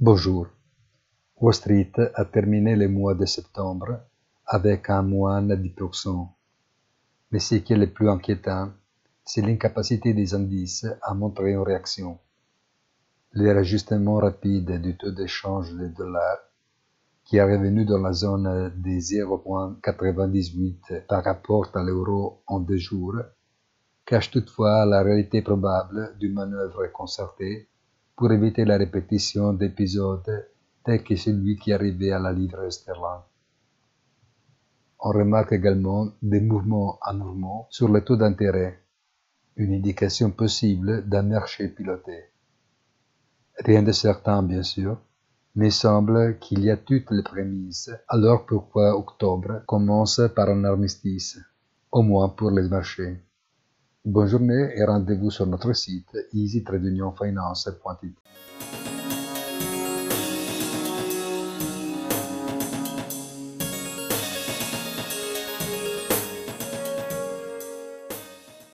Bonjour. Wall Street a terminé le mois de septembre avec un moins 10%. Mais ce qui est le plus inquiétant, c'est l'incapacité des indices à montrer une réaction. Le réajustement rapide du taux d'échange du dollar, qui est revenu dans la zone des 0,98 par rapport à l'euro en 2 jours, cache toutefois la réalité probable d'une manœuvre concertée pour éviter la répétition d'épisodes tels que celui qui arrivait à la livre sterling. On remarque également des mouvements anormaux sur le taux d'intérêt, une indication possible d'un marché piloté. Rien de certain, bien sûr, mais il semble qu'il y a toutes les prémices, alors pourquoi octobre commence par un armistice, au moins pour les marchés. Bonne journée et rendez-vous sur notre site easy-finance.it.